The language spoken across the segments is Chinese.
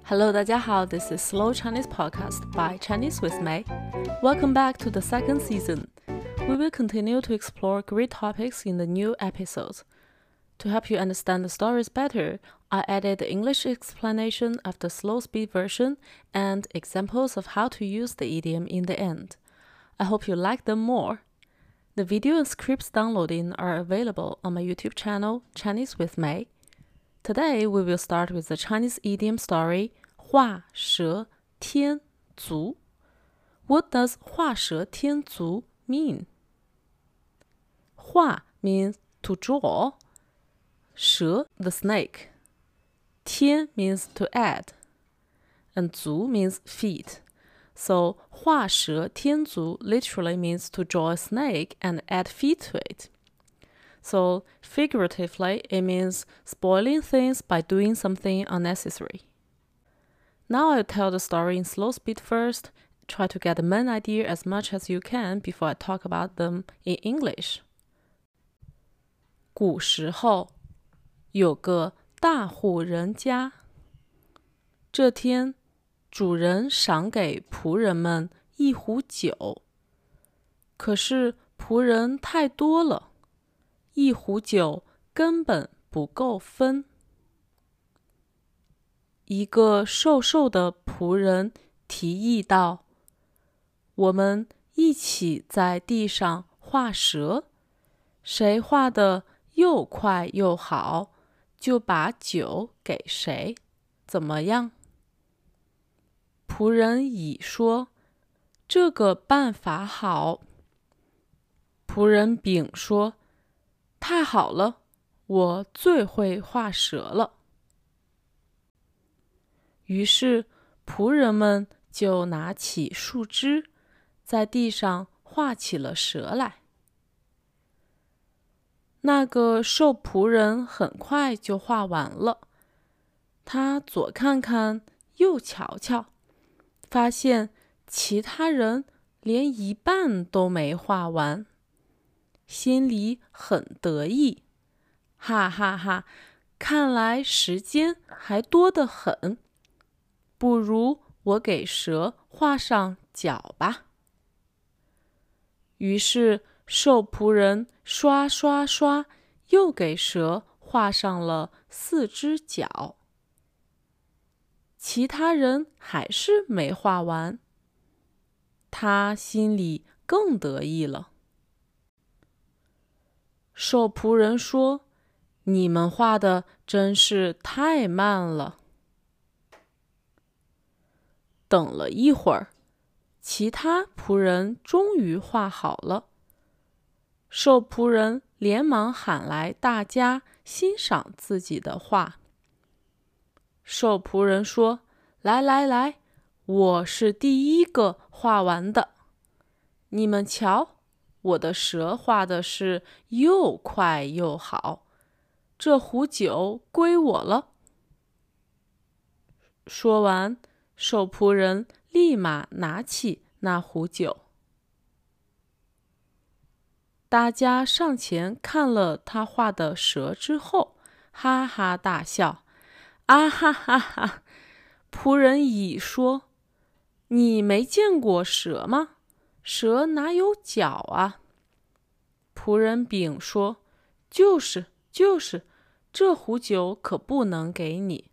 Hello, 大家好, this is Slow Chinese Podcast by Chinese with Mei. Welcome back to the second season. We will continue to explore great topics in the new episodes. To help you understand the stories better, I added the English explanation of the slow speed version and examples of how to use the idiom in the end. I hope you like them more. The video and scripts downloading are available on my YouTube channel, Chinese with Mei. Today, we will start with the Chinese idiom story, 画蛇添足. What does 画蛇添足 mean? 画 means to draw, 蛇 the snake, 添 means to add, and 足 means feet. So, 画蛇添足 literally means to draw a snake and add feet to it. So, figuratively, it means spoiling things by doing something unnecessary. Now I'll tell the story in slow speed first. Try to get the main idea as much as you can before I talk about them in English. 古时候，有个大户人家。这天，主人赏给仆人们一壶酒，可是仆人太多了，一壶酒根本不够分。一个瘦瘦的仆人提议道：“我们一起在地上画蛇，谁画的又快又好，就把酒给谁，怎么样？”仆人乙说：“这个办法好。”仆人丙说：“太好了，我最会画蛇了。”于是仆人们就拿起树枝，在地上画起了蛇来。那个瘦仆人很快就画完了，他左看看，右瞧瞧，发现其他人连一半都没画完，心里很得意，哈哈哈，看来时间还多得很，不如我给蛇画上脚吧。于是瘦仆人刷刷刷又给蛇画上了4只脚。其他人还是没画完，他心里更得意了。瘦仆人说：“你们画的真是太慢了。”等了一会儿，其他仆人终于画好了。瘦仆人连忙喊来大家欣赏自己的画。瘦仆人说：“来来来，我是第一个画完的。你们瞧，我的蛇画的是又快又好，这壶酒归我了。”说完，瘦仆人立马拿起那壶酒。大家上前看了他画的蛇之后，哈哈大笑。啊哈哈哈！仆人乙说：“你没见过蛇吗？蛇哪有脚啊？”仆人丙说：“就是，这壶酒可不能给你。”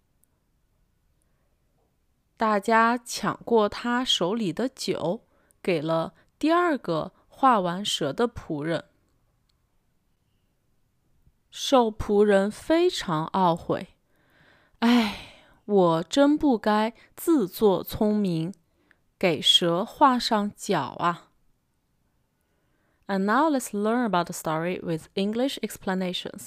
大家抢过他手里的酒，给了第二个画完蛇的仆人。瘦仆人非常懊悔，哎，我真不该自作聪明，给蛇画上脚啊。And now let's learn about the story with English explanations.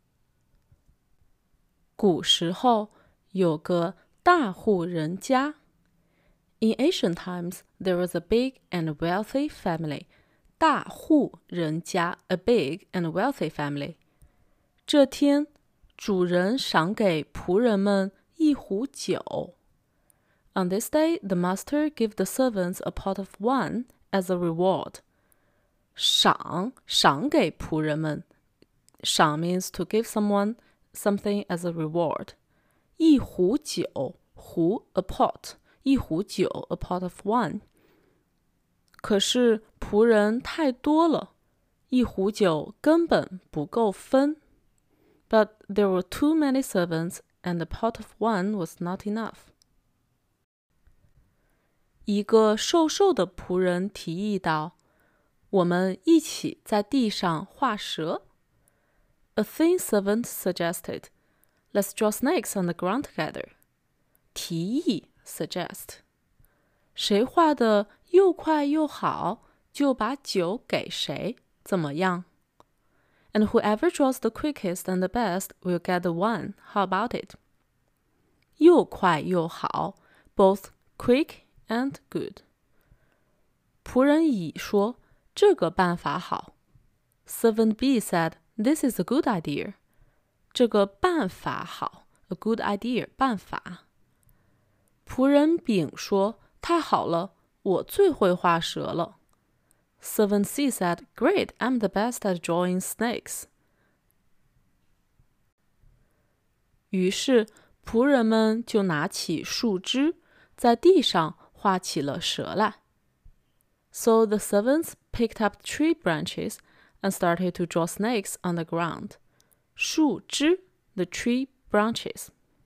古时候有个大户人家。In ancient times, there was a big and wealthy family. 大户人家 a big and wealthy family. 这天，主人赏给仆人们一壶酒。On this day, the master gave the servants a pot of wine as a reward. 赏给仆人们，赏 means to give someone something as a reward. 一壶酒壶 a pot， 一壶酒 a pot of wine。 可是仆人太多了，一壶酒根本不够分。 But there were too many servants and the pot of wine was not enough。 一个瘦瘦的仆人提议道，我们一起在地上画蛇。 A thin servant suggested, let's draw snakes on the ground together。 提议 suggest， 谁画的又快又好，就把酒给谁，怎么样？ And whoever draws the quickest and the best will get the wine. How about it? 又快又好 both quick and good。 仆人乙说，这个办法好。 Servant B said, this is a good idea。 这个办法好 a good idea， 办法。仆人丙说，太好了，我最会画蛇了。 Servant C said, great, I'm the best at drawing snakes。 于是仆人们就拿起树枝，在地上画起了蛇来。 So the servants picked up tree branches and started to draw snakes on the ground。 树枝 the tree branches。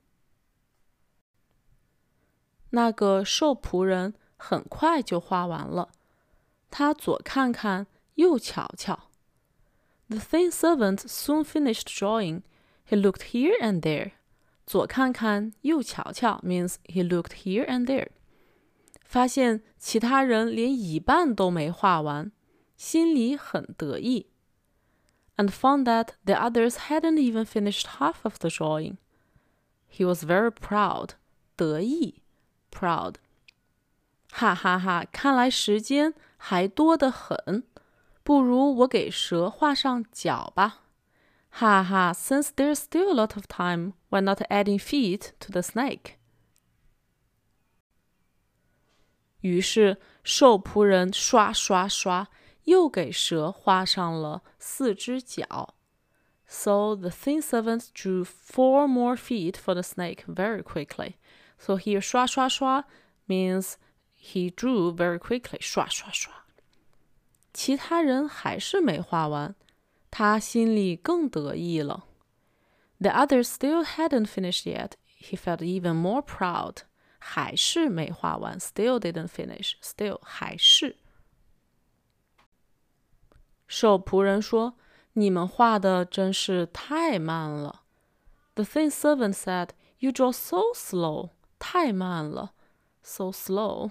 那个瘦仆人很快就画完了，他左看看，右瞧瞧。 The thin servant soon finished drawing. He looked here and there。 左看看，右瞧瞧 means he looked here and there。 发现其他人连一半都没画完，心里很得意。 And found that the others hadn't even finished half of the drawing. He was very proud. 得意 proud。 哈哈哈，看来时间还多得很，不如我给蛇画上脚吧。哈哈 since there's still a lot of time, why not adding feet to the snake？ 于是瘦仆人刷刷刷又给蛇画上了4只脚。 So the thin servant drew 4 more feet for the snake very quickly. So here 刷刷刷 means he drew very quickly， 刷刷刷。其他人还是没画完，他心里更得意了。 The others still hadn't finished yet. He felt even more proud. 还是没画完 still didn't finish. Still 还是。瘦仆人说，你们画的真是太慢了。 The thin servant said, you draw so slow. 太慢了 so slow。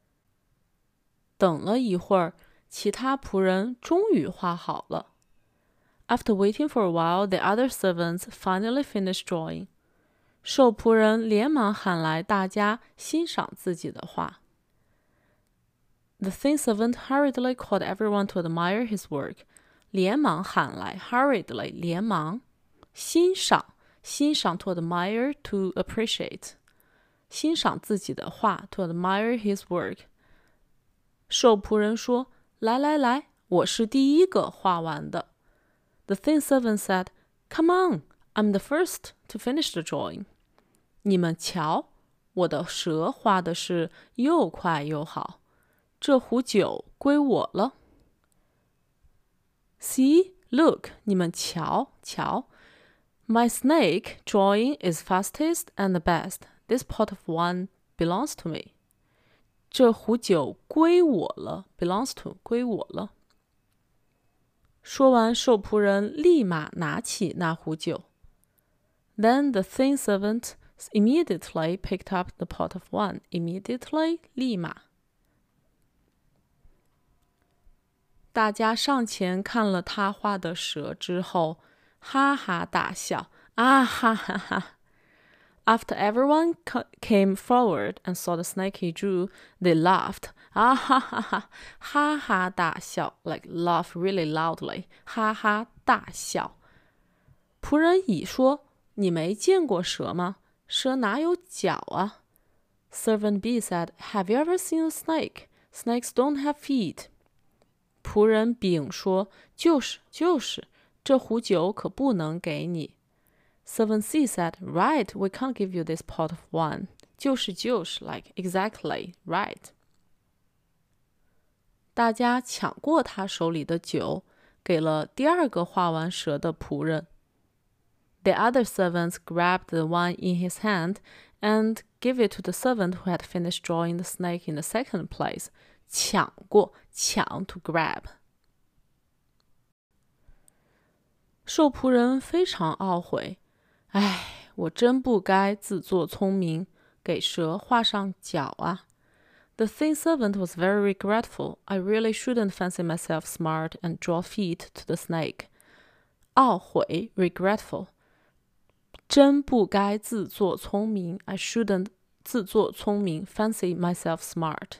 等了一会儿，其他仆人终于画好了。 After waiting for a while, the other servants finally finished drawing. 瘦仆人连忙喊来大家欣赏自己的画。 The thin servant hurriedly called everyone to admire his work. 连忙喊来 hurriedly 连忙，欣赏 to admire to appreciate， 欣赏自己的画 to admire his work。 瘦仆人说，来来来，我是第一个画完的。 The thin servant said, come on, I'm the first to finish the drawing。 你们瞧，我的蛇画的是又快又好，这壶酒归我了。 See, look， 你们瞧瞧， My snake drawing is fastest and the best. This pot of wine belongs to me. 这壶酒归我了 belongs to 归我了。说完，瘦仆人立马拿起那壶酒。 Then the thin servant immediately picked up the pot of wine. Immediately 立马。大家上前看了他画的蛇之后，哈哈大笑，啊哈哈哈。After everyone came forward and saw the snake he drew, they laughed. 啊哈哈哈，哈哈大笑 ，like laugh really loudly， 哈哈大笑。仆人乙说：“你没见过蛇吗？蛇哪有脚啊？” Servant B said, "Have you ever seen a snake? Snakes don't have feet." 仆人丙说：“就是，这壶酒可不能给你。” Servant C said, "Right, we can't give you this pot of wine." 就是 like exactly, right. 大家抢过他手里的酒，给了第二个画完蛇的仆人。The other servants grabbed the wine in his hand and gave it to the servant who had finished drawing the snake in the second place. 抢过，抢 to grab. 受仆人非常懊悔，我真不该自作聪明，给蛇画上脚啊。The thin servant was very regretful. I really shouldn't fancy myself smart and draw feet to the snake. 懊悔 regretful. 真不该自作聪明 I shouldn't 自作聪明 fancy myself smart.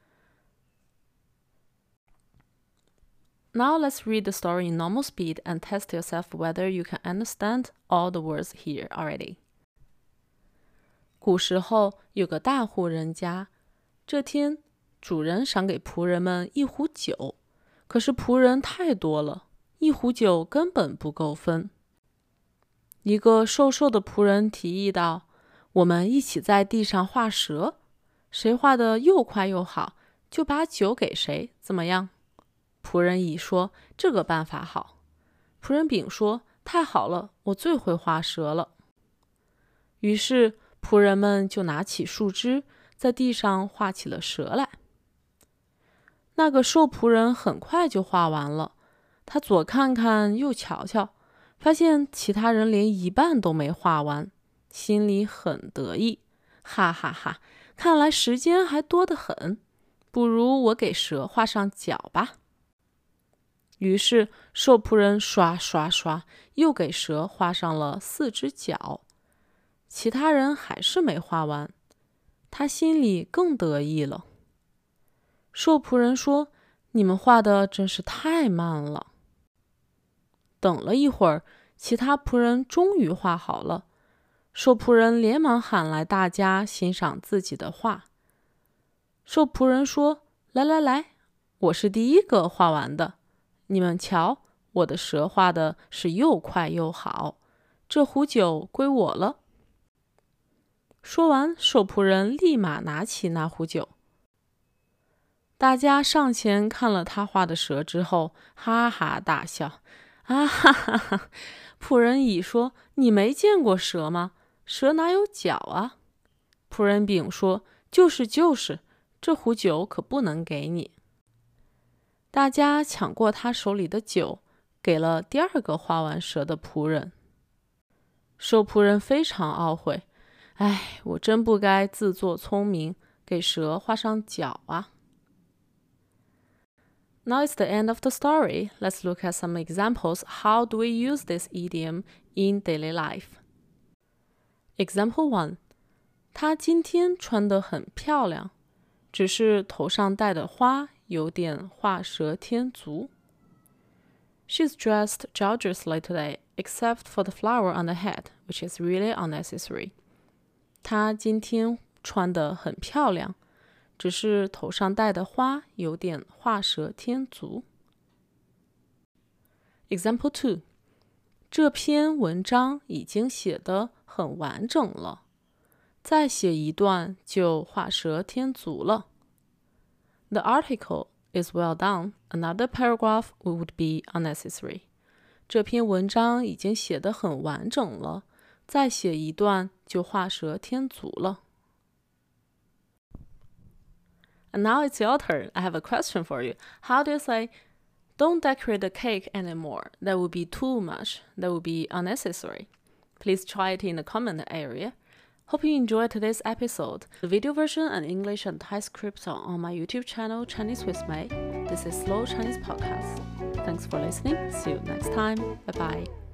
Now let's read the story in normal speed and test yourself whether you can understand all the words here already. 古时候有个大户人家，这天主人赏给仆人们一壶酒，可是仆人太多了，一壶酒根本不够分。一个瘦瘦的仆人提议道，我们一起在地上画蛇，谁画得又快又好，就把酒给谁，怎么样？仆人乙说，这个办法好。仆人丙说，太好了，我最会画蛇了。于是仆人们就拿起树枝，在地上画起了蛇来。那个瘦仆人很快就画完了，他左看看右瞧瞧，发现其他人连一半都没画完，心里很得意，哈哈哈，看来时间还多得很，不如我给蛇画上脚吧。于是瘦仆人刷刷刷又给蛇画上了4只脚，其他人还是没画完，他心里更得意了。瘦仆人说，你们画的真是太慢了。等了一会儿，其他仆人终于画好了，瘦仆人连忙喊来大家欣赏自己的画。瘦仆人说，来来来，我是第一个画完的，你们瞧，我的蛇画的是又快又好，这壶酒归我了。说完，瘦仆人立马拿起那壶酒。大家上前看了他画的蛇之后，哈哈大笑。啊哈哈哈！仆人乙说，你没见过蛇吗？蛇哪有脚啊？仆人丙说，就是，这壶酒可不能给你。大家抢过他手里的酒，给了第二个画完蛇的仆人。瘦仆人非常懊悔，我真不该自作聪明，给蛇画上脚啊。Now it's the end of the story. Let's look at some examples. How do we use this idiom in daily life? Example 1. 她今天穿得很漂亮，只是头上戴的花有点画蛇添足。She's dressed gorgeously today, except for the flower on the head, which is really unnecessary. 她今天穿得很漂亮，只是头上戴的花有点画蛇添足。Example 2. 这篇文章已经写得很完整了，再写一段就画蛇添足了。The article is well done. Another paragraph would be unnecessary. 这篇文章已经写得很完整了，再写一段就画蛇添足了。And now it's your turn. I have a question for you. How do you say, don't decorate the cake anymore? That would be too much. That would be unnecessary. Please try it in the comment area. Hope you enjoyed today's episode. The video version and English and Thai scripts are on my YouTube channel, Chinese with May. This is Slow Chinese Podcast. Thanks for listening. See you next time. Bye-bye.